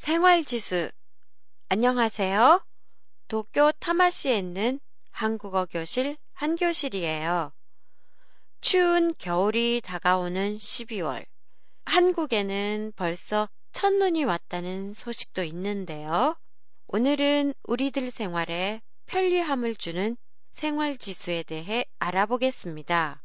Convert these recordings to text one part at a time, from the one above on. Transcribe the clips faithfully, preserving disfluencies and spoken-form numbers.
생활지수. 안녕하세요. 도쿄 타마시에 있는 한국어 교실 한교실이에요. 추운 겨울이 다가오는 십이월. 한국에는 벌써 첫눈이 왔다는 소식도 있는데요. 오늘은 우리들 생활에 편리함을 주는 생활지수에 대해 알아보겠습니다.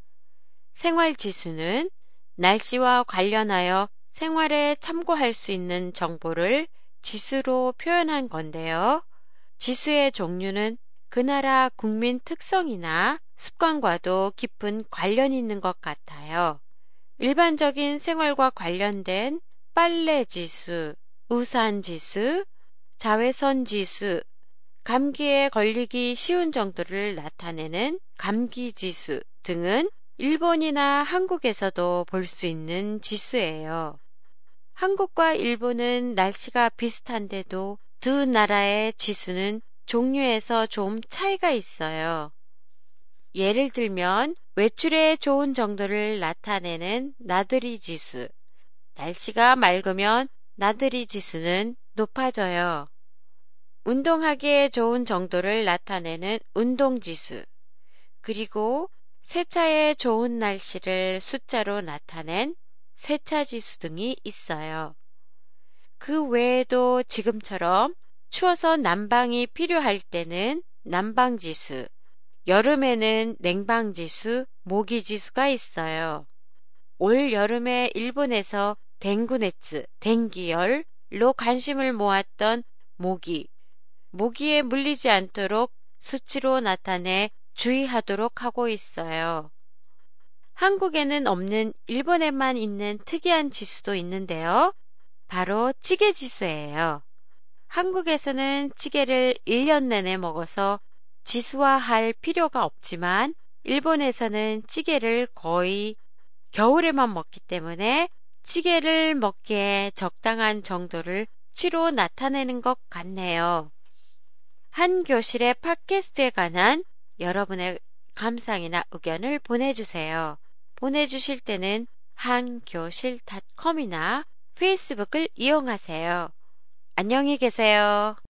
생활지수는 날씨와 관련하여 생활에 참고할 수 있는 정보를 지수로 표현한 건데요. 지수의 종류는 그 나라 국민 특성이나 습관과도 깊은 관련이 있는 것 같아요. 일반적인 생활과 관련된 빨래 지수, 우산 지수, 자외선 지수, 감기에 걸리기 쉬운 정도를 나타내는 감기 지수 등은 일본이나 한국에서도 볼 수 있는 지수예요. 한국과 일본은 날씨가 비슷한데도 두 나라의 지수는 종류에서 좀 차이가 있어요. 예를 들면 외출에 좋은 정도를 나타내는 나들이 지수. 날씨가 맑으면 나들이 지수는 높아져요. 운동하기에 좋은 정도를 나타내는 운동 지수. 그리고 세차에 좋은 날씨를 숫자로 나타낸 세차 지수 등이 있어요. 그 외에도 지금처럼 추워서 난방이 필요할 때는 난방 지수, 여름에는 냉방 지수, 모기 지수가 있어요. 올 여름에 일본에서 댕구네츠, 댕기열로 관심을 모았던 모기, 모기에 물리지 않도록 수치로 나타내 주의하도록 하고 있어요. 한국에는 없는 일본에만 있는 특이한 지수도 있는데요. 바로 찌개 지수예요. 한국에서는 찌개를 일 년 내내 먹어서 지수화할 필요가 없지만 일본에서는 찌개를 거의 겨울에만 먹기 때문에 찌개를 먹기에 적당한 정도를 수치로 나타내는 것 같네요. 한 교실의 팟캐스트에 관한 여러분의 감상이나 의견을 보내주세요. 보내주실 때는 한교실 닷컴이나 페이스북을 이용하세요. 안녕히 계세요.